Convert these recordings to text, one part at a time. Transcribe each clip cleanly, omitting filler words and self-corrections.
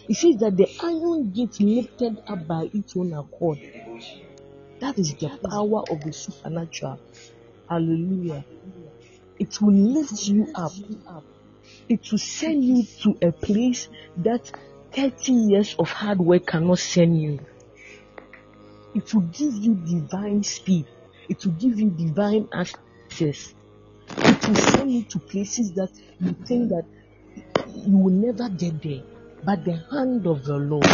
It says that the iron gate lifted up by its own accord. That is the power of the supernatural. Hallelujah. It will lift you up. It will send you to a place that 30 years of hard work cannot send you. It will give you divine speed. It will give you divine access. It will send you to places that you think that you will never get there. But the hand of the Lord,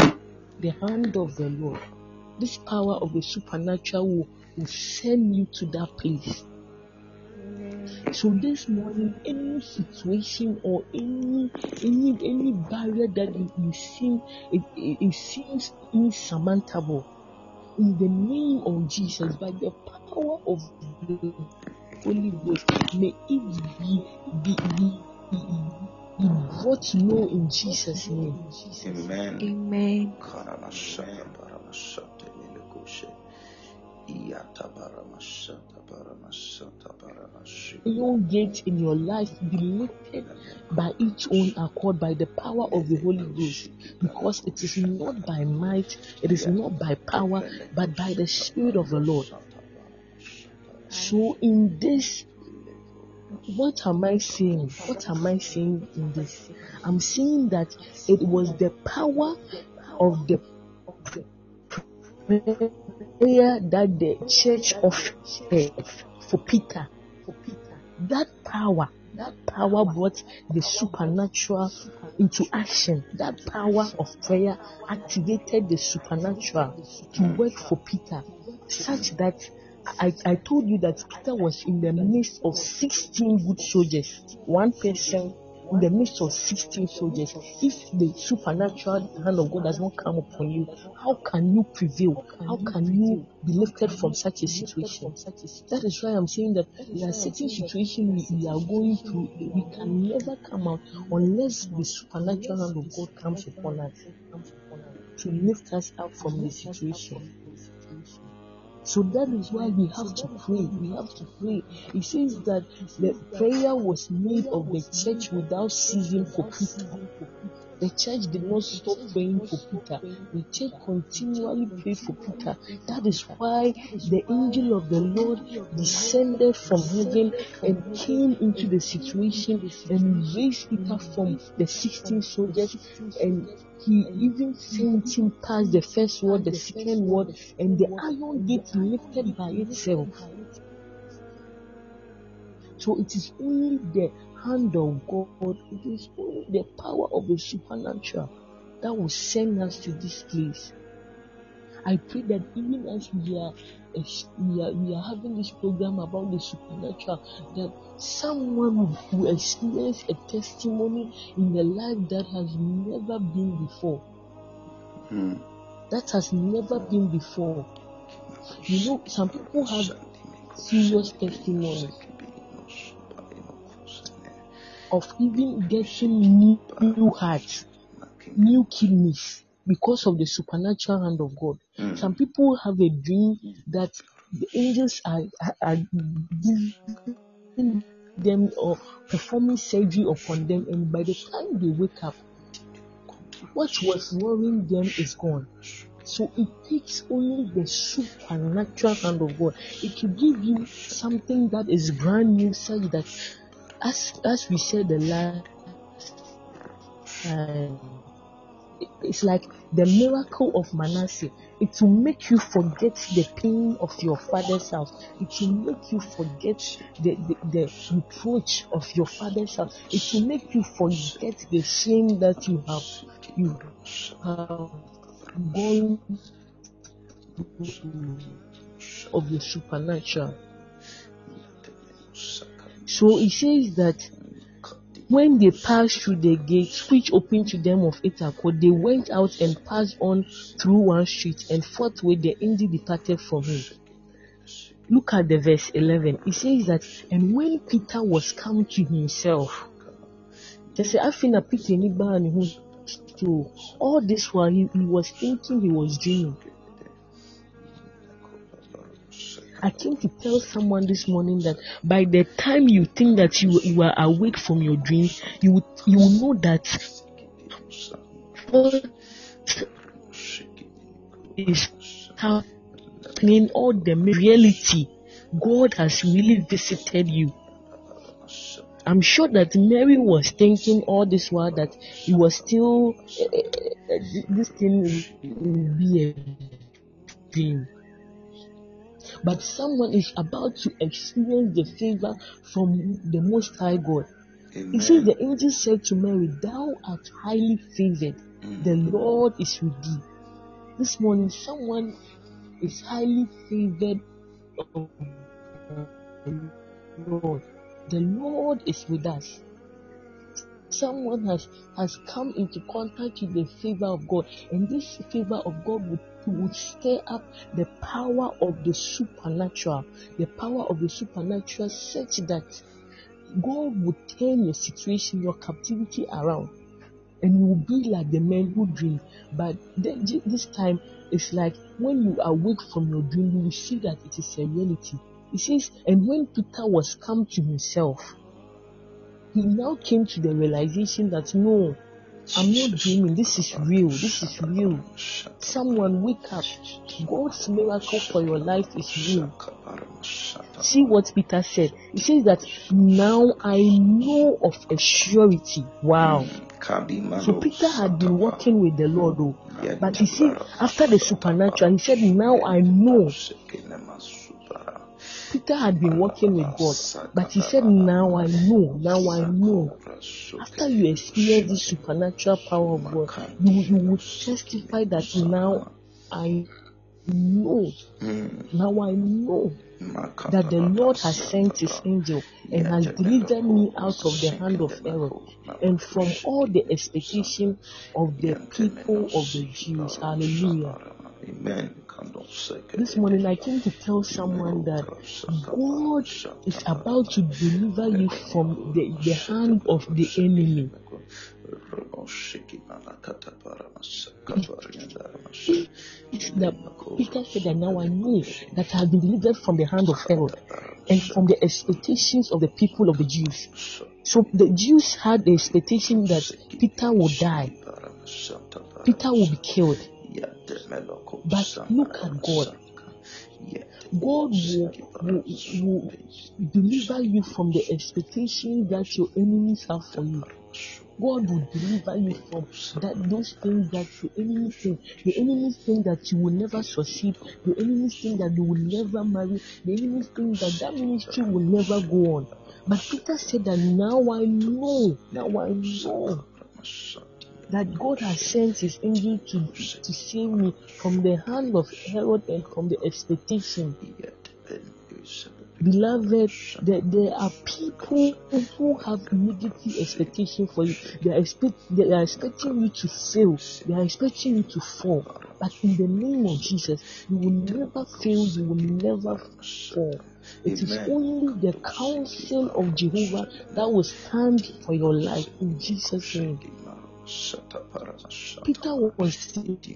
this power of the supernatural will send you to that place. So this morning, any situation or any barrier that you see, it seems insurmountable. In the name of Jesus, by the power of the Holy Ghost, may it be brought low in Jesus' name. Amen. Amen. Your gate in your life be lifted by its own accord, by the power of the Holy Ghost, because it is not by might, it is not by power, but by the Spirit of the Lord. So in this, what am I saying? What am I saying in this? I'm saying that it was the power of the prayer that the church offered for Peter. That power brought the supernatural into action. That power of prayer activated the supernatural to work for Peter, such that I told you that Peter was in the midst of 16 good soldiers. One person in the midst of 16 soldiers. If the supernatural hand of God does not come upon you, how can you prevail? How can you be lifted from such a situation? That is why I'm saying that there are certain situations we are going through, we can never come out unless the supernatural hand of God comes upon us to lift us up from the situation. So that is why we have to pray. We have to pray. It says that the prayer was made of the church without ceasing for Peter. The church did not stop praying for Peter. The church continually prayed for Peter. That is why the angel of the Lord descended from heaven and came into the situation and raised Peter from the 16 soldiers, and he even sent him past the first ward, the second ward, and the iron gate lifted by itself. So it is only the hand of God, it is only the power of the supernatural that will send us to this place. I pray that even as we are having this program about the supernatural, that someone will experience a testimony in the life that has never been before. That has never been before. You know, some people have serious testimonies of even getting new hearts, new kidneys, because of the supernatural hand of God. Some people have a dream that the angels are giving them or performing surgery upon them, and by the time they wake up, what was worrying them is gone. So it takes only the supernatural hand of God. It will give you something that is brand new, such that as we said the last time, it's like the miracle of Manasseh. It will make you forget the pain of your father's house. It will make you forget the reproach of your father's house. It will make you forget the shame that you have gone of the supernatural. So it says that when they passed through the gates which opened to them of its accord, they went out and passed on through one street, and forthwith the angel departed from him. Look at the verse 11. It says that, and when Peter was come to himself, all this while he was thinking, he was dreaming. I came to tell someone this morning that by the time you think that you are awake from your dreams, you will know that what is happening, all the reality, God has really visited you. I'm sure that Mary was thinking all this while that he was still this thing will be a dream. But someone is about to experience the favor from the Most High God. He says, the angel said to Mary, "Thou art highly favored. The Lord is with thee." This morning, someone is highly favored of the Lord. The Lord is with us. Someone has come into contact with the favor of God, and this favor of God would stir up the power of the supernatural, such that God would turn your situation, your captivity around, and you will be like the men who dream. But this time, it's like when you awake from your dream, you will see that it is a reality. It says, and when Peter was come to himself, he now came to the realization that no, I'm not dreaming. This is real. Someone wake up. God's miracle for your life is real. See what Peter said. He says that now I know of a surety. Wow. So Peter had been walking with the Lord, but you see, after the supernatural, he said, now I know. Peter had been walking with God, but he said, now I know. After you experience the supernatural power of God, you will testify that now I know. Now I know that the Lord has sent his angel and has delivered me out of the hand of Herod and from all the expectation of the people of the Jews. Hallelujah. Amen. This morning I came to tell someone that God is about to deliver you from the hand of the enemy. Peter said that now I know that I have been delivered from the hand of Herod and from the expectations of the people of the Jews. So the Jews had the expectation that Peter will die. Peter will be killed. But look at God. God will deliver you from the expectation that your enemies have for you. God will deliver you from those things that your enemies think. Your enemies think that you will never succeed. Your enemies think that you will never marry. The enemies think that ministry will never go on. But Peter said that now I know that God has sent his angel to save me from the hand of Herod and from the expectation. Beloved, there are people who have negative expectation for you. They are expecting you to fail. They are expecting you to fall. But in the name of Jesus, you will never fail. You will never fall. It is only the counsel of Jehovah that will stand for your life in Jesus' name. Peter was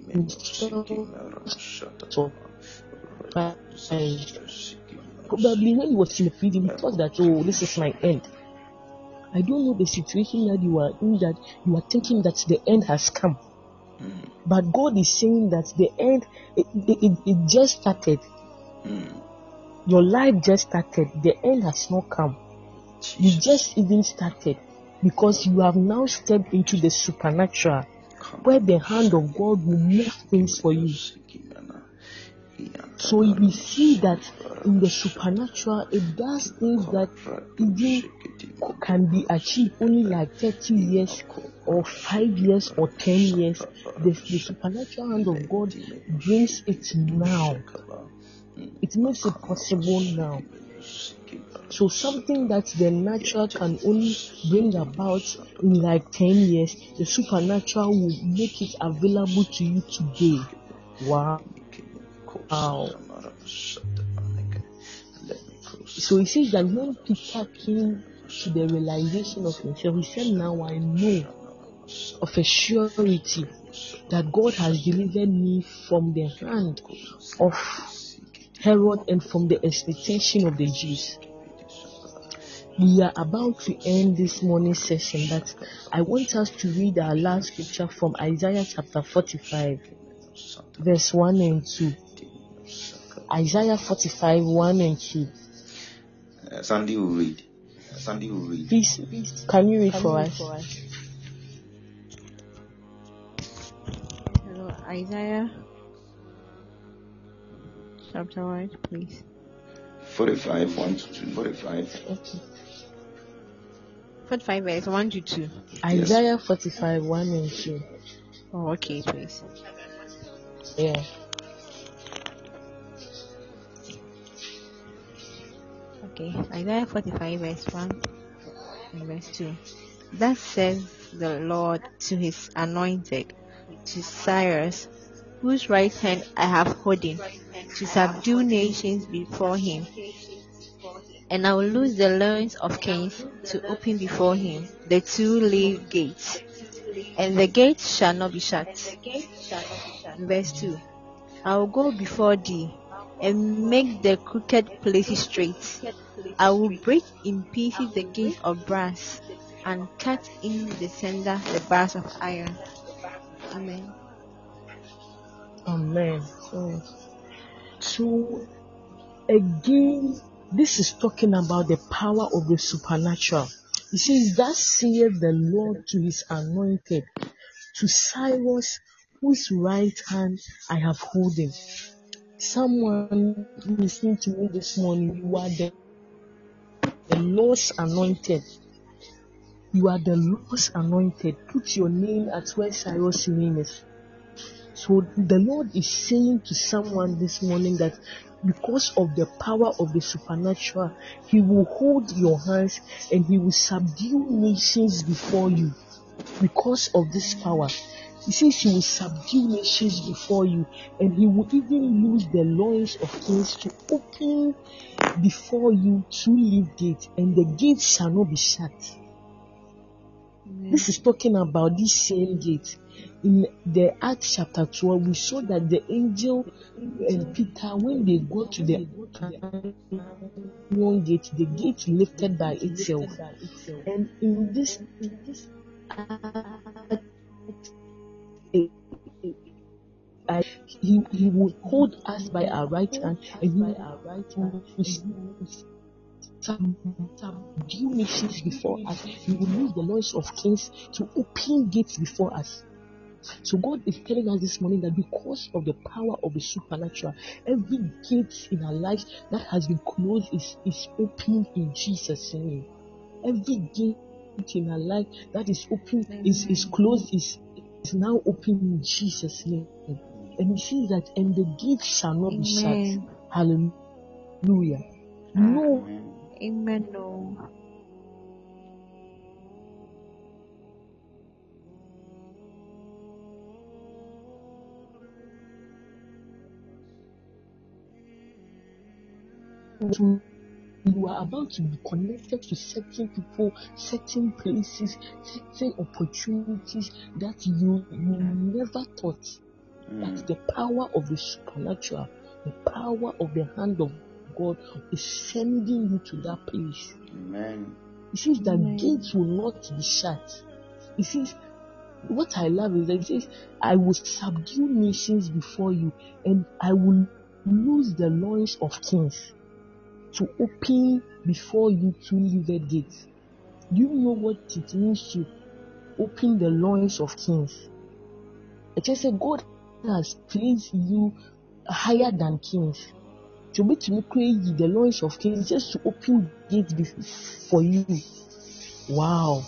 probably when he was in the prison, he thought that, oh, this is my end. I don't know the situation that you are in, that you are thinking that the end has come. But God is saying that the end, it just started. Your life just started. The end has not come. You just even started, because you have now stepped into the supernatural, where the hand of God will move things for you. So we see that in the supernatural, it does things that even can be achieved only like 30 years or 5 years or 10 years. The supernatural hand of God brings it now. It makes it possible now. So something that the natural can only bring about in like 10 years, the supernatural will make it available to you today. Wow. So he says that when Peter came to the realization of himself, he said, now I know of a surety that God has delivered me from the hand of Herod and from the expectation of the Jews. we are about to end this morning session, but I want us to read our last scripture from Isaiah chapter 45, verse 1 and 2. Isaiah 45, 1 and 2. Sandy will read. Please, can you read for us? Hello, Isaiah chapter what, please? 45, 1 to 2. 45. Okay. 45 verse 1 to 2. Isaiah 45, 1 and 2. Oh, okay, please. Yeah. Okay, Isaiah 45 verse 1 and verse 2. Thus says the Lord to his anointed, to Cyrus, whose right hand I have holden, to subdue nations before him. And I will loose the loins of kings to open before him the two-leaved gates, and the gates shall not be shut. Verse 2. I will go before thee, and make the crooked places straight. I will break in pieces the gates of brass, and cut in the center the bars of iron. Amen. Amen. So again, this is talking about the power of the supernatural. It says, thus saith the Lord to his anointed, to Cyrus, whose right hand I have holden. Someone listening to me this morning, you are the Lord's anointed. You are the Lord's anointed. Put your name at where Cyrus' name is. So the Lord is saying to someone this morning that because of the power of the supernatural, He will hold your hands and He will subdue nations before you. Because of this power, He says He will subdue nations before you, and He will even use the loins of kings to open before you two-leaved gates, and the gates shall not be shut. This is talking about this same gate. In the Acts chapter 12, we saw that the angel and Peter, when they go to the one gate, the gate lifted by itself. And in this he will hold us by our right hand, and He will subdue nations before us. He will use the loins of kings to open gates before us. So God is telling us this morning that because of the power of the supernatural, every gate in our lives that has been closed is opened in Jesus' name. Every gate in our life that is open is closed is now open in Jesus' name. And He says that, and the gates shall not be shut. Hallelujah. No. Amen. No. You are about to be connected to certain people, certain places, certain opportunities that you never thought. But the power of the supernatural, the power of the hand of God is sending you to that place. Amen. It says that gates will not be shut. It says, what I love is that it says, I will subdue nations before you, and I will loose the loins of kings to open before you two-leaved gates. Do you know what it means to open the loins of kings? It just said God has placed you higher than kings. To be create the loins of kings, just to open gates for you. Wow.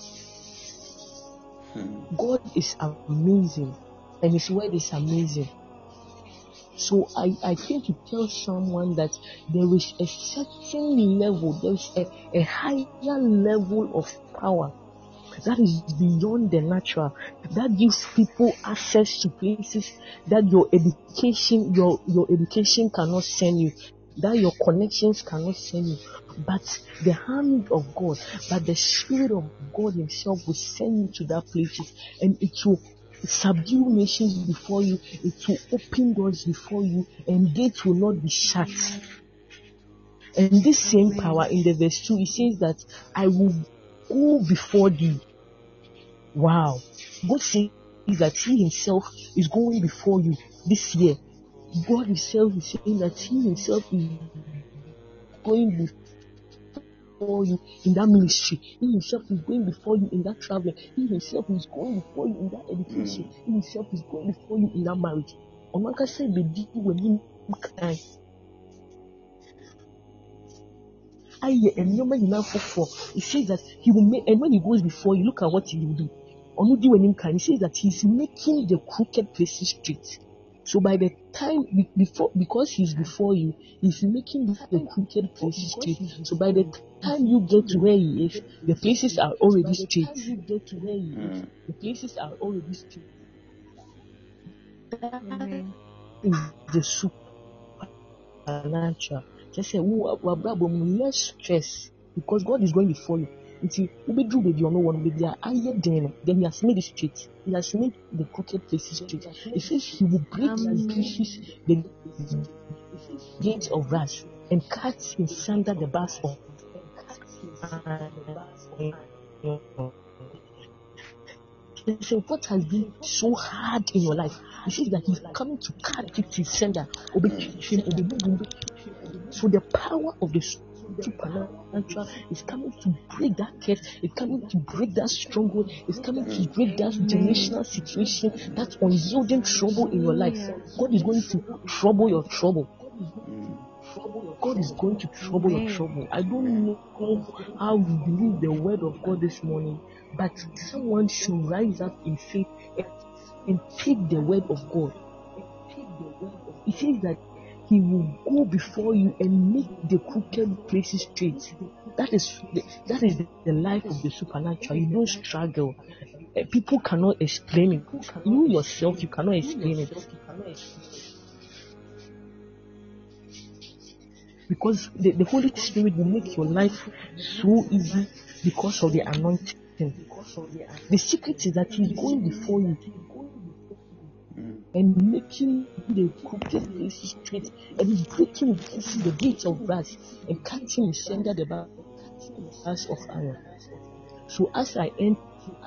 God is amazing, and His word is amazing. So I came to tell someone that there is a certain level, there is a higher level of power that is beyond the natural, that gives people access to places that your education cannot send you, that your connections cannot send you. But the hand of God, but the Spirit of God Himself will send you to that place, and it will subdue nations before you, it will open doors before you, and gates will not be shut. And this same power in the verse 2, it says that I will go before thee. Wow. God says that He Himself is going before you this year. God Himself is saying that He Himself is going before you in that ministry. He Himself is going before you in that traveling. He Himself is going before you in that education. He Himself is going before you in that marriage. Omaka said, "Baby, when Him can." It says that He will make, and when He goes before you, look at what He will do. He says that He's making the crooked places straight. So by the time before, because He's before you, He's making the crooked places straight. So by the time you get to where He is, the places are already straight. The places are already straight. That is the supernatural. Just say, less stress, because God is going before you. Then He has made it straight. He has made the crooked places straight. It says He will break in pieces the gates of brass and cut in sunder the bars of so what has been so hard in your life? He says that He's coming to cut it in sunder. So the power of the supernatural is coming to break that curse. It's coming to break that stronghold. It's coming to break that generational situation, that unyielding trouble in your life. God is going to trouble your trouble. God is going to trouble your trouble. I don't know how you believe the word of God this morning, but someone should rise up in faith and take the word of God. It says that He will go before you and make the crooked places straight. That is the life of the supernatural. You don't struggle. People cannot explain it. You yourself, you cannot explain it. Because the Holy Spirit will make your life so easy because of the anointing. The secret is that He's going before you and making the crooked places straight, and He's breaking the gates of brass and cutting in sunder the bars of iron. So as I end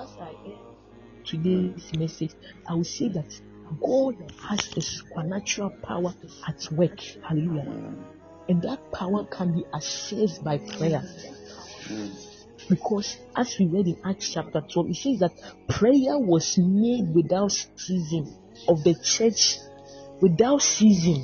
today's message, I will say that God has a supernatural power at work. Hallelujah. And that power can be accessed by prayer. Because as we read in Acts chapter 12, it says that prayer was made without ceasing of the church, without ceasing.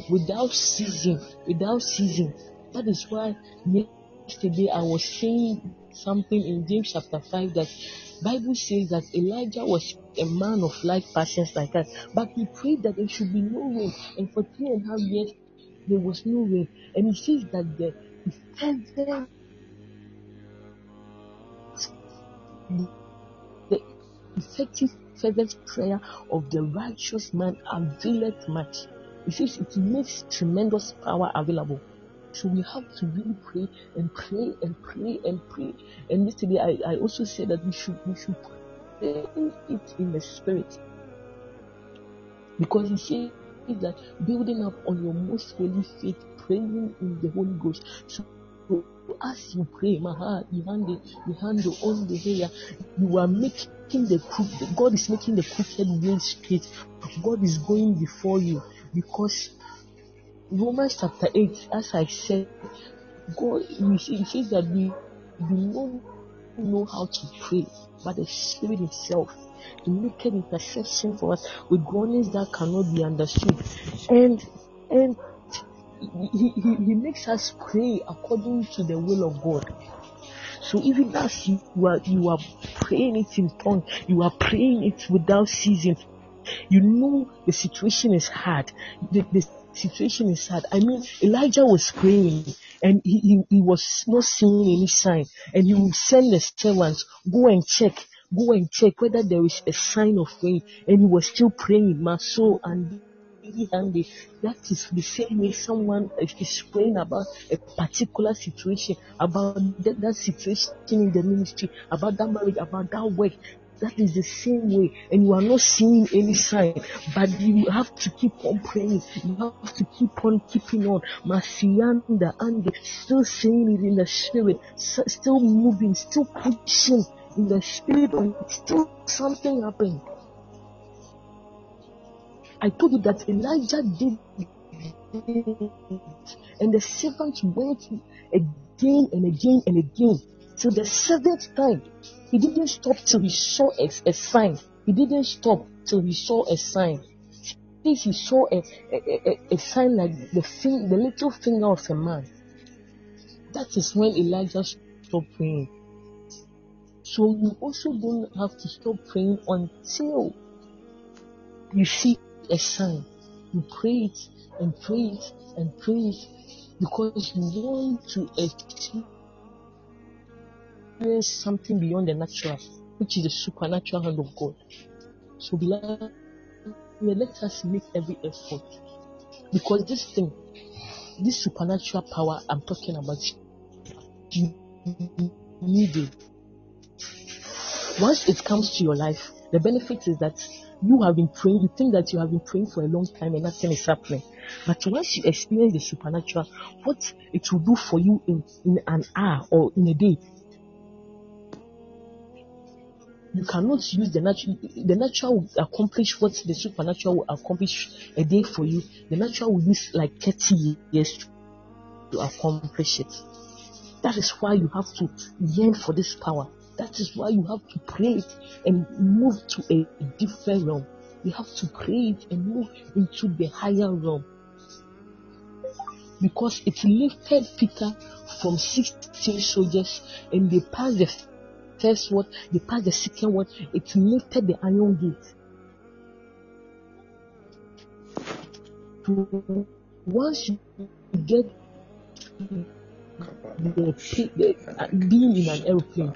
That is why yesterday I was saying something in James chapter 5 that Bible says that Elijah was a man of like passions like us, but he prayed that there should be no rain, and for 3.5 years there was no rain. And he says that the effective fervent prayer of the righteous man availeth much. It says it makes tremendous power available. So we have to really pray and pray and pray and pray. And yesterday I also said that we should pray it in the spirit, because he says that building up on your most holy faith, praying in the Holy Ghost. So as you pray, you are making God is making the crooked way straight. God is going before you, because Romans chapter 8, as I said, it says that we do not know how to pray, but the Spirit Himself to make an intercession for us with groanings that cannot be understood. And he makes us pray according to the will of God. So even as you are praying it in tongues, you are praying it without ceasing. You know the situation is hard. The situation is hard. I mean, Elijah was praying and he was not seeing any sign, and he would send the servants, go and check whether there is a sign of rain, and he was still praying. Maso and that is the same way someone is praying about a particular situation, about that situation in the ministry, about that marriage, about that work. That is the same way, and you are not seeing any sign, but you have to keep on praying. You have to keep on keeping on. Masianda and still saying it in the spirit, still moving, still pushing in the spirit, and still something happening. I told you that Elijah did it, and the servant went again and again and again till the seventh time. He didn't stop till he saw a sign. He didn't stop till he saw a sign. If he saw a sign like the little finger of a man, that is when Elijah stopped praying. So you also don't have to stop praying until you see a sign. You pray it and pray it and pray it, because you want to experience something beyond the natural, which is the supernatural hand of God. So beloved, let us make every effort, because this supernatural power I'm talking about, you need it. Once it comes to your life, the benefit is that you have been praying. You think that you have been praying for a long time and nothing is happening. But once you experience the supernatural, what it will do for you in an hour or in a day, you cannot use the natural. The natural will accomplish what the supernatural will accomplish a day for you. The natural will use like 30 years to accomplish it. That is why you have to yearn for this power. That is why you have to pray it and move to a different realm. You have to pray it and move into the higher realm. Because it lifted Peter from 16 soldiers, and they passed the first word, they passed the second word. It lifted the iron gate. So once you get being in an airplane,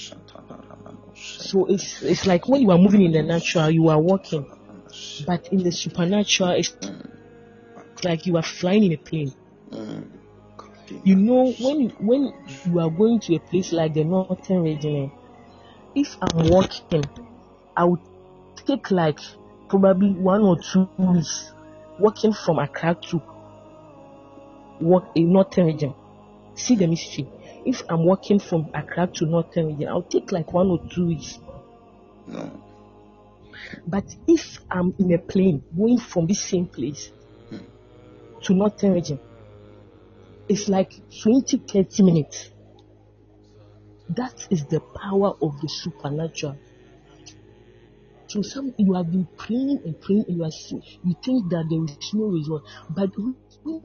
so it's like when you are moving in the natural, you are walking, but in the supernatural, it's like you are flying in a plane. You know, when you are going to a place like the Northern Region, if I'm walking, I would take like probably 1 or 2 weeks walking from Accra to walk in Northern Region. See the mystery. If I'm walking from Accra to Northern Region, I'll take like 1 or 2 weeks. No. But if I'm in a plane going from this same place to Northern Region, it's like 20-30 minutes. That is the power of the supernatural. So you have been praying and praying, and you think that there is no result. But when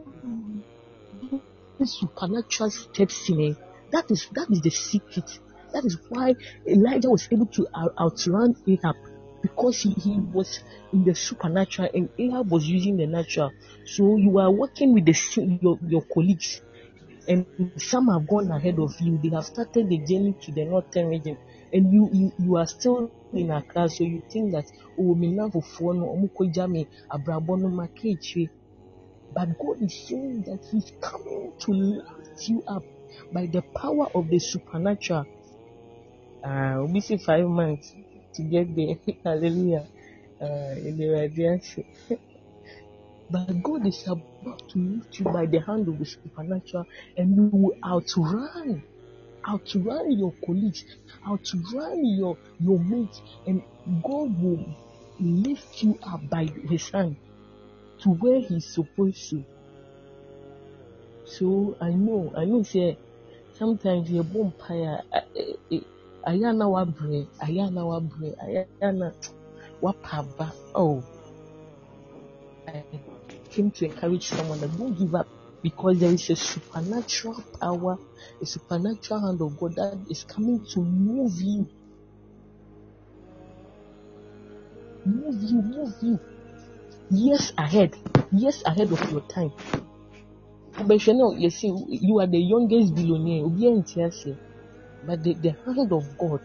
the supernatural steps in, that is the secret. That is why Elijah was able to outrun Ahab, because he was in the supernatural and Ahab was using the natural. So you are working with your colleagues, and some have gone ahead of you. They have started the journey to the Northern Region, and you are still in Accra. So you think that but God is saying that He's coming to lift you up by the power of the supernatural. We see 5 months to get there. Hallelujah. But God is about to lift you by the hand of the supernatural, and you will outrun your colleagues, outrun your mates, and God will lift you up by His hand to where He's supposed to. So I know, say sometimes you're born paya. Ayana wabre, ayana wapaba. Oh, I came to encourage someone that don't give up, because there is a supernatural power, a supernatural hand of God that is coming to move you. Years ahead of your time. But you know, you see, you are the youngest billionaire, but the hand of God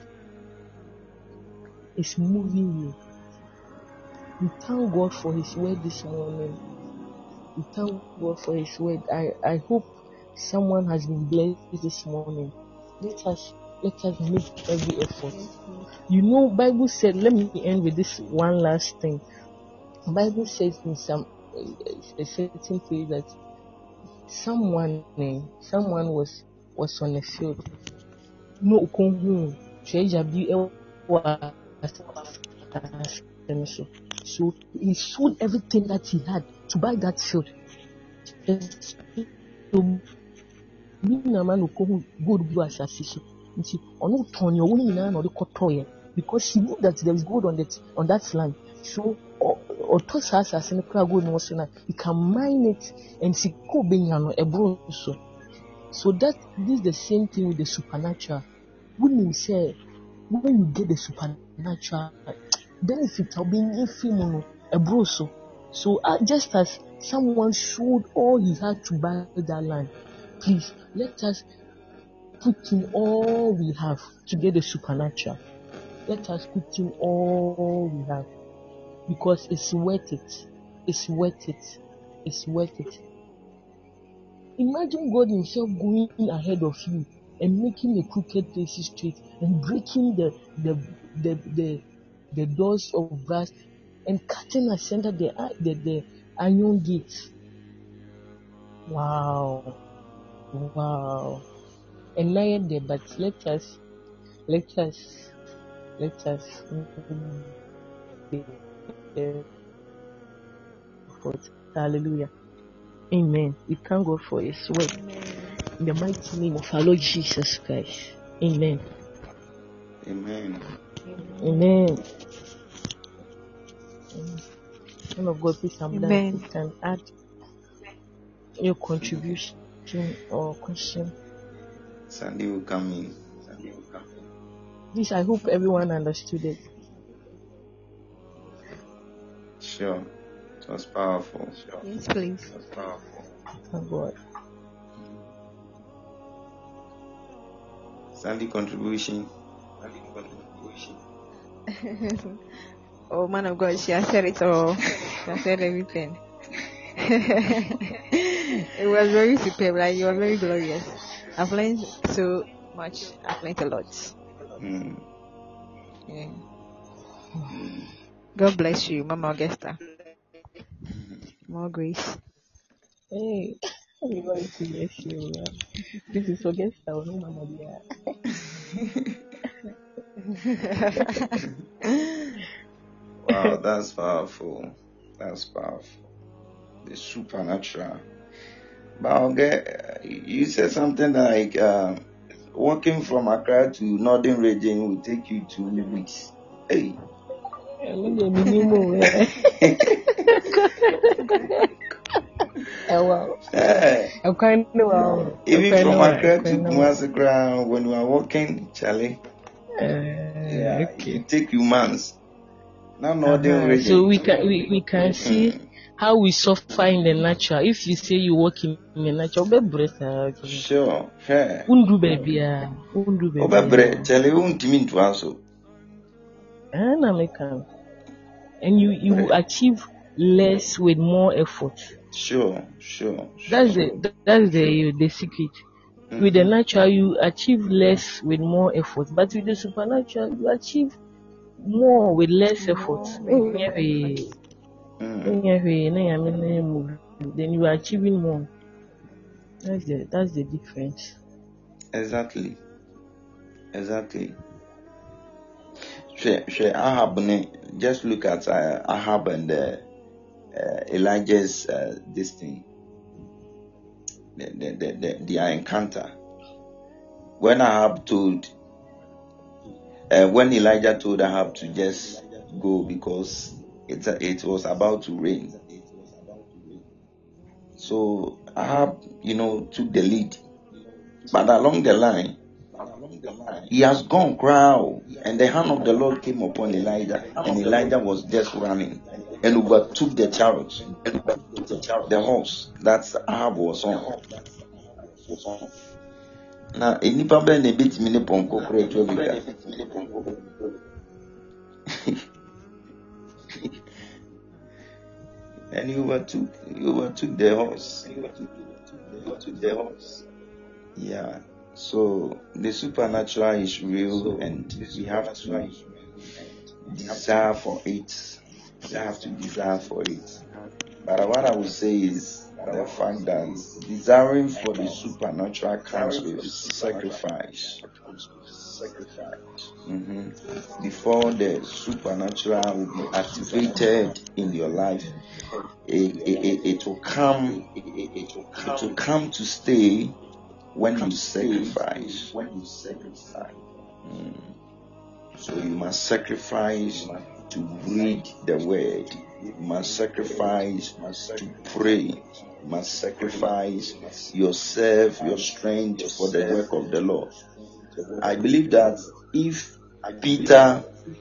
is moving you. We thank God for His word this morning. We thank God for His word. I hope someone has been blessed this morning. Let us let us make every effort. You know, Bible said, let me end with this one last thing. Bible says in some a certain place that someone was on a field. No konhu treasure bi so he sold everything that he had to buy that field. So gold blue asasi. Because he knew that there is gold on that land. So he can mine it and see so that this is the same thing with the supernatural. When you say when you get the supernatural benefit of being a broso. So just as someone sold all he had to buy that land, please let us put in all we have to get the supernatural. Let us put in all we have because it's worth it. It's worth it. It's worth it. Imagine God himself going ahead of you and making the crooked places straight and breaking the doors of brass and cutting asunder the iron gates. Wow. And now there, but let us hallelujah. Amen. We thank God for his word. In the mighty name of our Lord Jesus Christ. Amen. Amen. Amen. Son of God, please, I'm done. Amen. You can add your contribution or question. Sandy will come in. This, I hope everyone understood it. Sure. It was powerful. Yes, please. It was powerful. Thank God. Sandy contribution. Oh, man of God, she has said it all. She has said everything. It was very superb. Like, you were very glorious. I've learned so much. I've learned a lot. Yeah. God bless you, Mama Augusta. More grace. Hey, everybody to bless you. This is Augusta, no Mama dear. Wow, that's powerful. That's powerful. The supernatural. But okay, you said something like walking from Accra to Northern region will take you 2 weeks. Hey. Wow. Even from Accra to Kumasi, when you are walking, Charlie, it take you months. Now Northern region. So we can see how we suffer in the natural. If you say you work in the natural, sure, fair. Undu baby. Charlie, won't mean to answer. And you achieve less with more effort. Sure. That's the secret. With the natural, you achieve less with more effort, but with the supernatural, you achieve more with less effort. Then you are achieving more. That's the difference. Exactly. Ahab, just look at Ahab and Elijah's this thing, their encounter. When Elijah told Ahab to just go because it was about to rain, so Ahab, took the lead, but along the line, he has gone crowd, and the hand of the Lord came upon Elijah, and Elijah was just running and overtook the chariot, the horse that Ahab was on. Now, any problem a bit mini ponko and he overtook the horse. Yeah. So the supernatural is real, and we have to desire for it. We have to desire for it. But what I would say is the fact that desiring for the supernatural comes with sacrifice. Before the supernatural will be activated in your life, it will come to stay when you sacrifice. So you must sacrifice to read the word. You must sacrifice to pray. You must sacrifice yourself, your strength for the work of the Lord. I believe that if Peter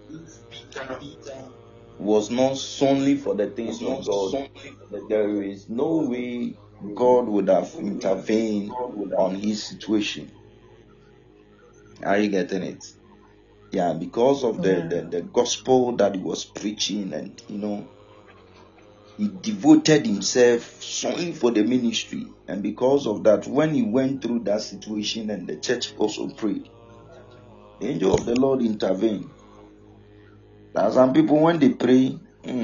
was not solely for the things of God, there is no way God would have intervened on his situation. Are you getting it? Yeah, because of the gospel that he was preaching, and he devoted himself solely for the ministry. And because of that, when he went through that situation and the church also prayed, the angel of the Lord intervened. There are some people, when they pray,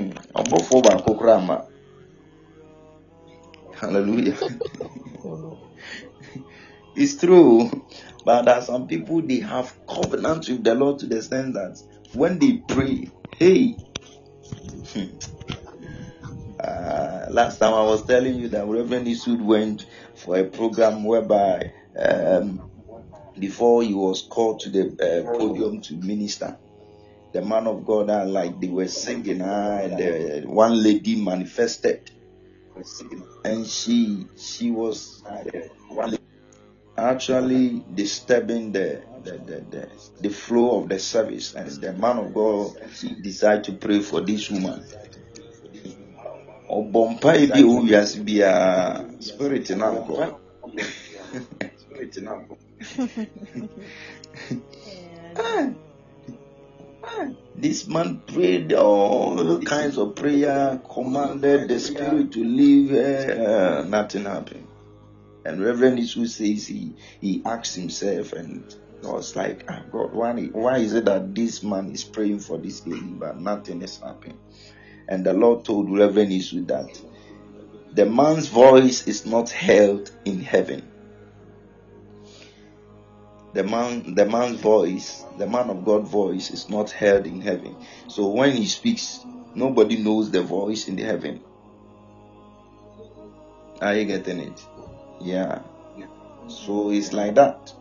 hallelujah. It's true. But there are some people, they have covenant with the Lord to the extent that when they pray, hey, last time I was telling you that Reverend Isud went for a program whereby before he was called to the podium to minister, the man of God, like they were singing, and one lady manifested, and she was actually disturbing the flow of the service, and the man of God decided to pray for this woman. Spirit in this man prayed all kinds of prayer, commanded the spirit to leave. Nothing happened. And Reverend Isu says he asked himself, and was like, God, why is it that this man is praying for this lady, but nothing is happening? And the Lord told Reverend Isu that the man's voice is not held in heaven. The man's voice, the man of God's voice, is not held in heaven. So when he speaks, nobody knows the voice in the heaven. Are you getting it? Yeah. So it's like that.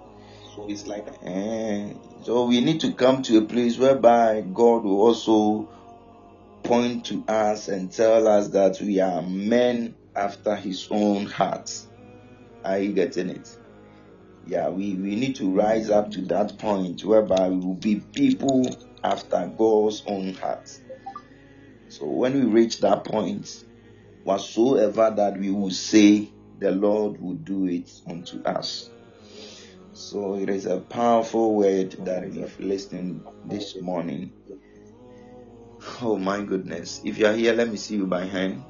So we need to come to a place whereby God will also point to us and tell us that we are men after his own heart. Are you getting it? Yeah, we need to rise up to that point whereby we will be people after God's own heart. So when we reach that point, whatsoever that we will say, the Lord will do it unto us. So it is a powerful word that we've listened this morning. Oh my goodness. If you are here, let me see you by hand.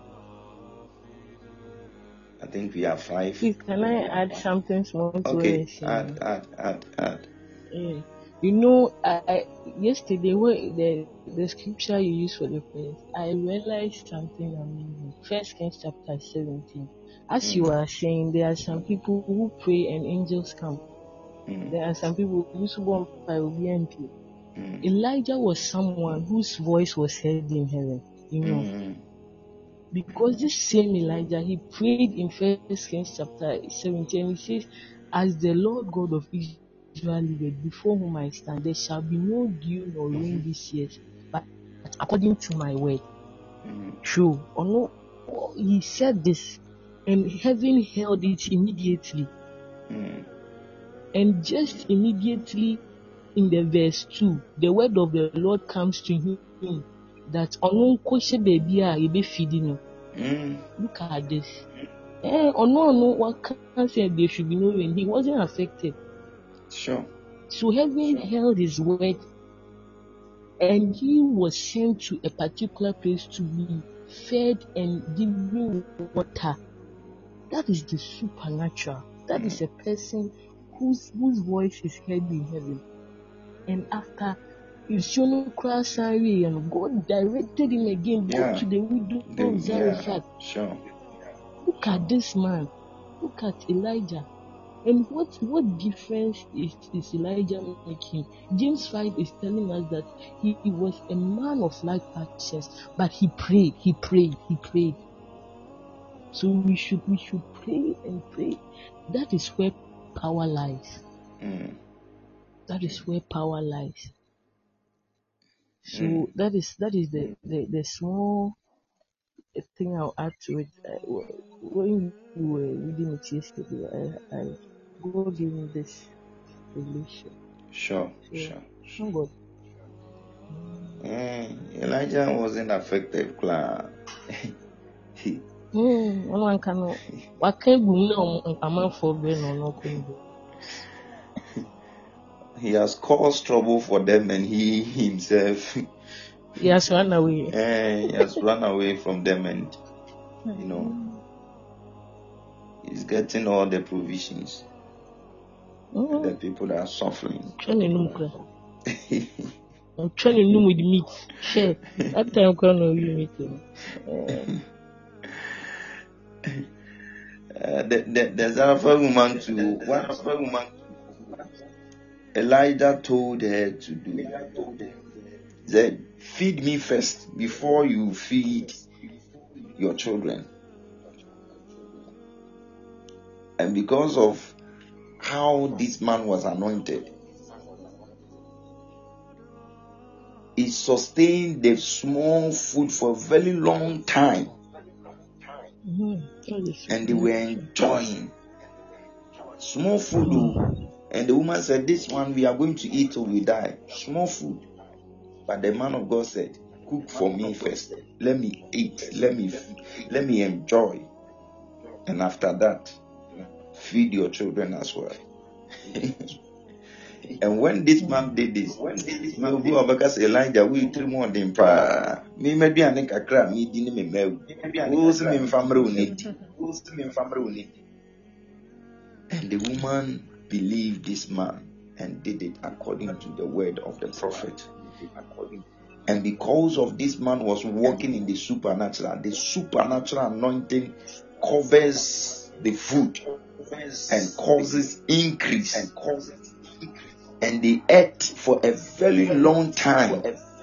I think we have 5. Please, can I add something small to what you're saying? Add. Yeah. Yesterday, the scripture you used for the prayer, I realized something amazing. 1 Kings chapter 17. As you are saying, there are some people who pray and angels come. There are some people who will be MP. Elijah was someone whose voice was heard in heaven. Because this same Elijah, he prayed in 1 Kings chapter 17. He says, as the Lord God of Israel liveth, before whom I stand, there shall be no dew nor rain this year, but according to my word. True or no? He said this, and heaven held it immediately. And just immediately in the verse 2, the word of the Lord comes to him that look at this. What can't say there should be no rain? He wasn't affected. Sure. So heaven held his word, and he was sent to a particular place to be fed and given water. That is the supernatural. That is a person whose voice is heard in heaven. And after and God directed him again back to the widow of Zarephath. Sure. Look at this man. Look at Elijah. And what difference is Elijah making? James 5 is telling us that he was a man of like passions, but he prayed. So we should pray and pray. That is where power lies. That is where power lies. So that is the small thing I'll add to it. When you were reading it yesterday, I God gave me this revelation. Sure. Somebody. Elijah wasn't affected, Clara. One can. What can we know? I'm not for being or not. He has caused trouble for them, and he himself he has run away. He has run away from them, and he's getting all the provisions. The people that are suffering. I'm trying to know with meat. Share. That time I'm going to meat. There's another woman too. One other woman. Elijah told her to do. Said, feed me first before you feed your children. And because of how this man was anointed, he sustained the small food for a very long time. And they were enjoying small food. And the woman said, this one we are going to eat till we die. Small food. But the man of God said, cook for me first. Let me eat. Let me enjoy. And after that, feed your children as well. And when this man did this, Elijah, we three more than prayer. Me maybe I think I cry me didn't me me. And the woman believed this man and did it according to the word of the prophet. And because of this man was walking in the supernatural anointing covers the food and causes increase. And they ate for a very long time.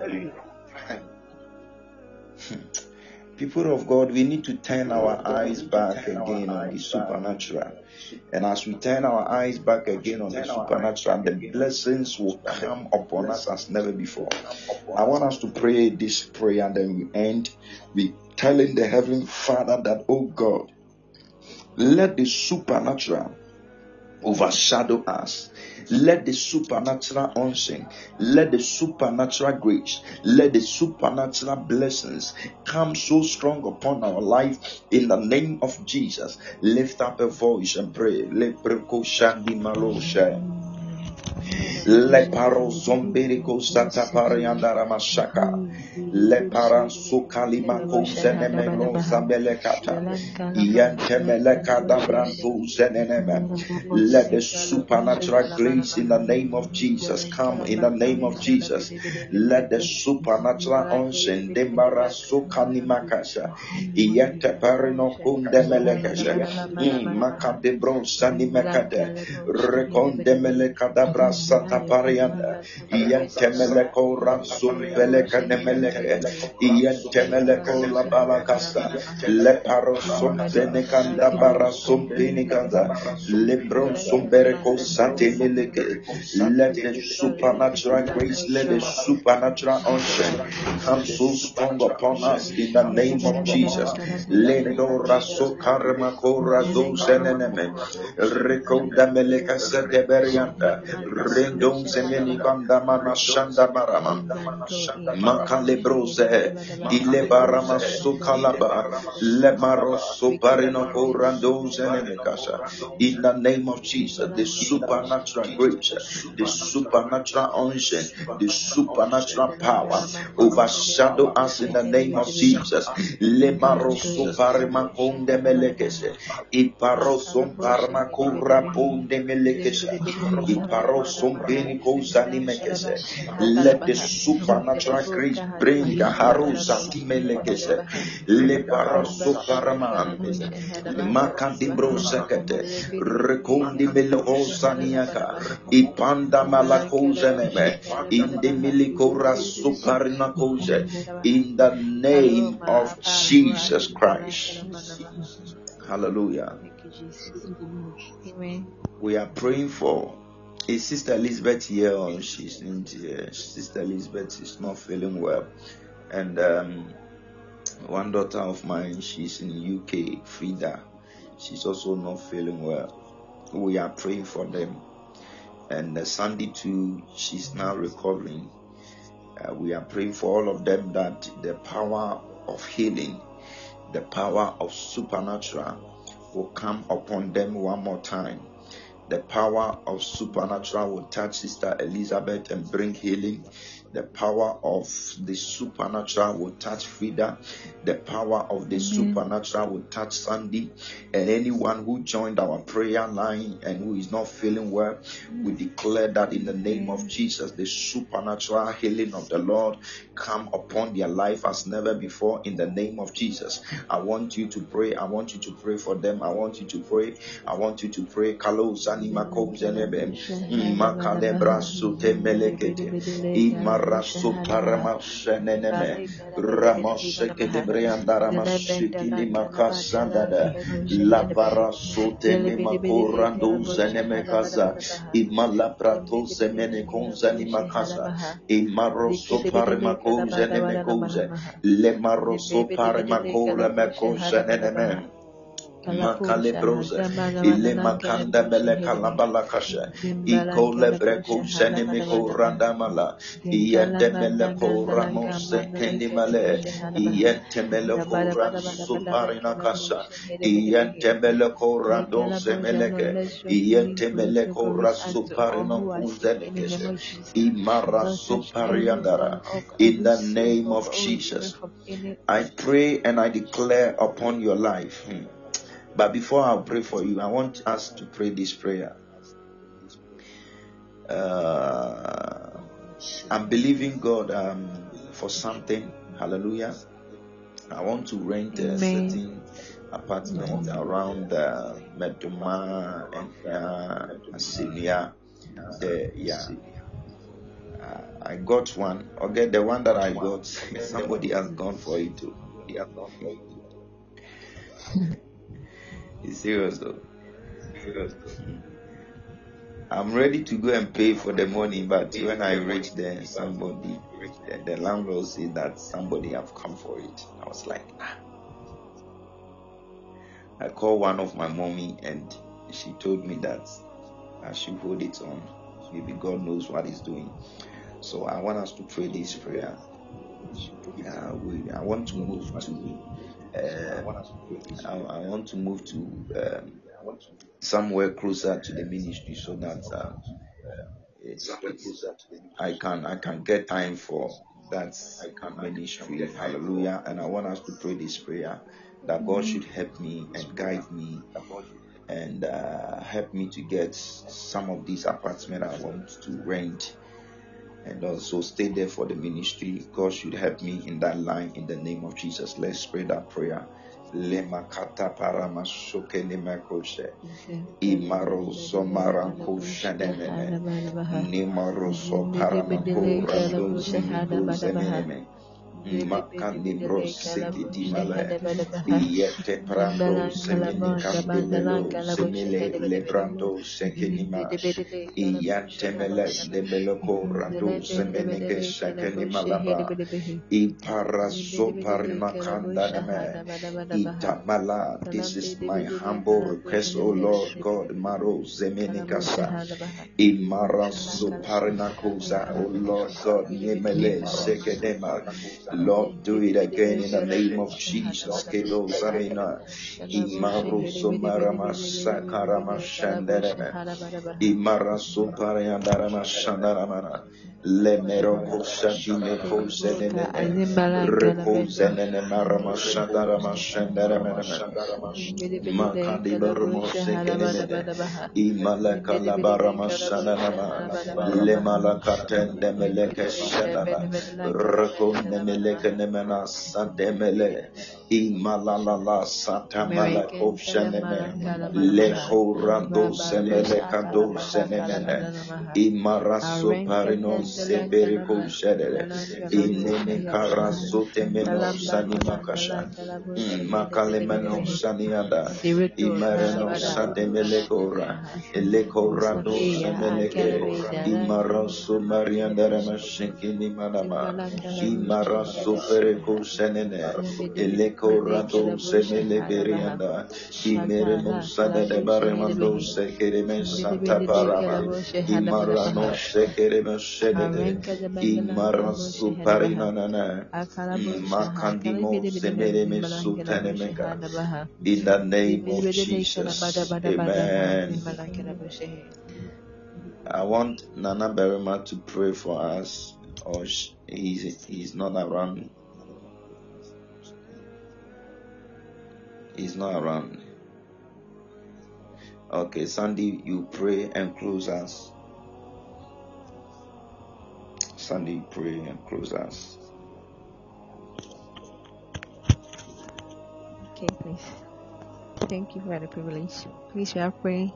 People of God, we need to turn our eyes back again on the supernatural. And as we turn our eyes back again on the supernatural, the blessings will come upon us as never before. I want us to pray this prayer, and then we end with telling the Heavenly Father that, oh God, let the supernatural overshadow us. Let the supernatural unction, let the supernatural grace, let the supernatural blessings come so strong upon our life in the name of Jesus. Lift up a voice and pray. Le paro zomberico sata pariandara mashaka. Le para sukalimako zenemeno zambelekata. Iantemeleka dabranto zeneneme. Let the supernatural grace in the name of Jesus come in the name of Jesus. Let the supernatural unction demara sukanimakasha. Iante parino kundemelekasha. Makade bronsa nimekade. Rekondemeleka dabra sata parianda. Iantemeleko ransum beleka nemeleke. Iantemeleko la balakasa. Le parosum benekanda barasum benikanda. Lebron sombereko sate meleke. Let the supernatural grace, let the supernatural unction come so strong upon us in the name of Jesus. Lendo raso karma kora zo zeneneme. Rekonda meleka sete berianda. Rendon semeni kandamana shanda barama. Makalebrose, Ilebarama Sokalaba, Lebaro Soparino Randon Zenemekasa. In the name of Jesus, the supernatural grace, the supernatural unction, the supernatural power overshadow us in the name of Jesus. Lebaro Soparima Konde Melekese, Iparo Somparma Kura Ponde Melekesa, Iparo Sompeni Kosani Mekese. Let the supernatural grace bring a harusa timelekese le paraso paraman makandibro sekete rekondi melohosa niaka ipanda malakoze neme in the milikora suparina koze in the name of Jesus Christ. Hallelujah. Amen. We are praying for. Is Sister Elizabeth here or she's not here? Sister Elizabeth is not feeling well. And one daughter of mine, she's in UK, Frida. She's also not feeling well. We are praying for them. And Sandy too, she's now recovering. We are praying for all of them that the power of healing, the power of supernatural will come upon them one more time. The power of supernatural will touch Sister Elizabeth and bring healing. The power of the supernatural will touch Frida. The power of the supernatural will touch Sandy. And anyone who joined our prayer line and who is not feeling well, we declare that in the name of Jesus, the supernatural healing of the Lord come upon their life as never before in the name of Jesus. I want you to pray. I want you to pray for them. I want you to pray. I want you to pray. Kalos Makozenebe, Makalebra Sute Melekete, Imaraso Paramasheneme, Ramoseke de Briandaramashiki Makasandada, Labara Sote Nemakorando Zenemekaza, Imalaprato Semenekonzani Makasa, Imaroso Paramako Zenemekoze, Lemaroso Paramakora Mekozeneme. Makalebroze, ile makanda bele kalabala kasha, iko lebreko zenemeko randamala, iyente meleko ramose kendimale, iyente meleko ransuparina kasha, iyente meleko randon semeleke, iyente meleko rasuparina kuzenekeshe, imara supariandara. In the name of Jesus, I pray and I declare upon your life. But before I pray for you, I want us to pray this prayer. I'm believing God for something. Hallelujah. I want to rent a certain apartment around Meduma and Asilia. I got one. Okay, the one that I got, somebody has gone for it too. It's serious though. I'm ready to go and pay for the money, but when I reach there, the landlord said that somebody have come for it. I was like, I called one of my mommy and she told me that I should hold it on. Maybe God knows what He's doing. So I want us to pray this prayer. I want to move to. I want to move to somewhere closer to the ministry so that I can get time for that ministry. Hallelujah. And I want us to pray this prayer that God should help me and guide me and help me to get some of these apartments I want to rent and also stay there for the ministry. God should help me in that line in the name of Jesus. Let's pray that prayer. Lemakata paramashoke nemakoshe imaroso maranko shanemene nimaroso paramako randozi mikozeneme Makani broseke dimale yete prando semene candemelo semele lebrando sekenima iyantemele debeloko rando semeneke sekenimalaba iparaso parimakandadame itamala. This is my humble request, O Lord God, Maro Zemenikasa Imaraso Parinakosa, O Lord God, Nemele Sekedema. Lord, do it again in the name of Jesus. Kedo Zarina Imaruso Maramasa Karamashandarama Imaraso Pariandarama Shandaramana Lemero Kosatine Kosenene Reposenene Marama Shandarama Shandaramana Makandi Baramo Sekenemene Imalaka Labarama Shananama Lemalakatende Meleke Shanana Rakonde Meleke Nemena Sademele Imalala Satamalako Shaneme Leko Rando Semelekado Senemene Imaraso Parino Seberiko Shedere Inene Karaso Temeno Sanimakasha Makalemano Saniada Imarano Sademelekora Elekorado Semeleke Imaraso Mariandarama Shenkini Manama Imaraso Pereko Senene Elekorado Semele Berianda Imereno Sadade Baremando Sekereme Santa Parama Imarano Sekereme Shedede Imaraso Parinanana Makandimo Semereme Sutanemeka in the name of Jesus. Amen. I want Nana Berima to pray for us, or he's not around. He's not around. Okay, Sandy, you pray and close us. Sandy, pray and close us. Okay, please. Thank you for the privilege. Please, we are praying.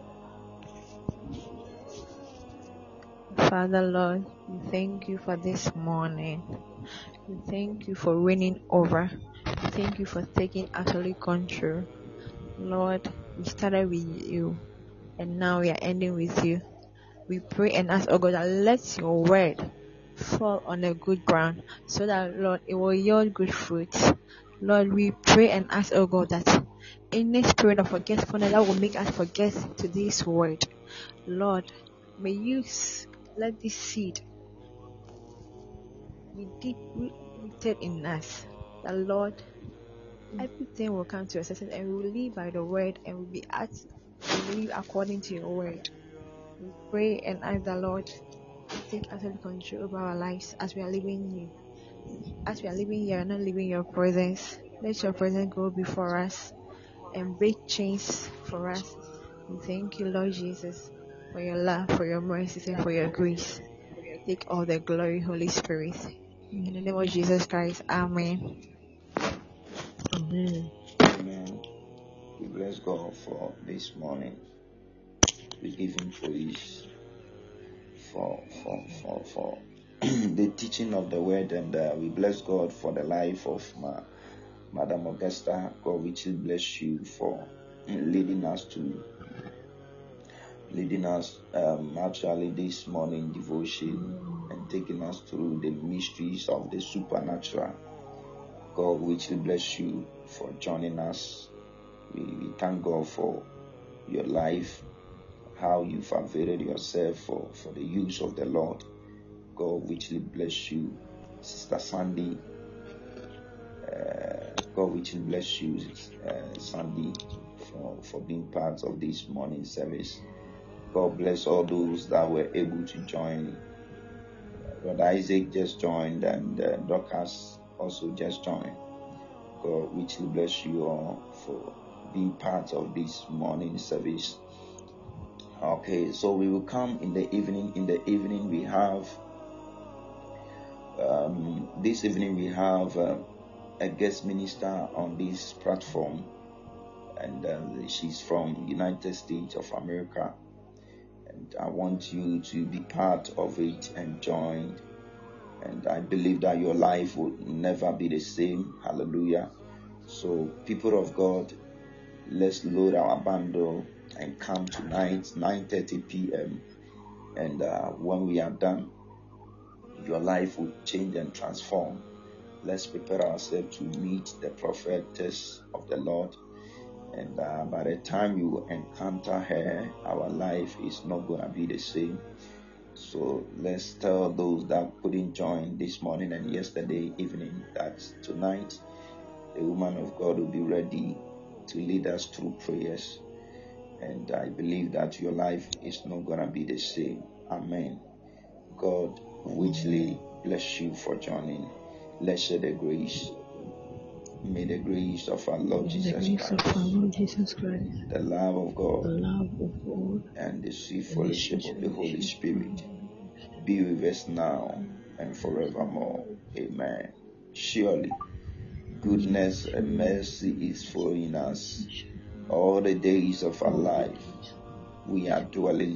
Father, Lord, we thank you for this morning. We thank you for reigning over. We thank you for taking absolute control. Lord, we started with you, and now we are ending with you. We pray and ask, oh God, that let your word fall on a good ground, so that, Lord, it will yield good fruits. Lord, we pray and ask, oh God, that any spirit of forgetfulness that will make us forget to this word, Lord, may you let this seed be deeply rooted in us. That, Lord, everything will come to a success, and we will live by the word, and we will live according to your word. We pray and ask the Lord take absolute control over our lives as we are living you. As we are living here, not living your presence. Let your presence go before us and break chains for us. We thank you, Lord Jesus, for your love, for your mercy, and for your grace. Take all the glory, Holy Spirit. In the name of Jesus Christ, Amen. Amen. Amen. We bless God for this morning. We give him praise for the teaching of the word, and we bless God for the life of Madam Augusta. God richly bless you for leading us actually this morning devotion and taking us through the mysteries of the supernatural. God richly bless you for joining us. We thank God for your life, how you've availed yourself for the use of the Lord. God richly bless you, Sister Sandy. God richly bless you, Sandy, for being part of this morning service. God bless all those that were able to join. Brother Isaac just joined, and Dorcas also just joined. God richly bless you all for being part of this morning service. Okay, so we will come in the evening. In the evening we have this evening we have a guest minister on this platform, and she's from United States of America, and I want you to be part of it and join And I believe that your life will never be the same. Hallelujah. So, people of God, let's load our bundle and come tonight, 9:30 p.m. And when we are done, your life will change and transform. Let's prepare ourselves to meet the prophetess of the Lord. And by the time you encounter her, our life is not going to be the same. So let's tell those that couldn't join this morning and yesterday evening that tonight the woman of God will be ready to lead us through prayers. And I believe that your life is not going to be the same. Amen. God richly bless you for joining. Let's share the grace. May the grace of our Lord Jesus Christ, the love of God, and the sweet fellowship of the Holy Spirit be with us now and forevermore. Amen. Surely, goodness and mercy is following us all the days of our life. We are dwelling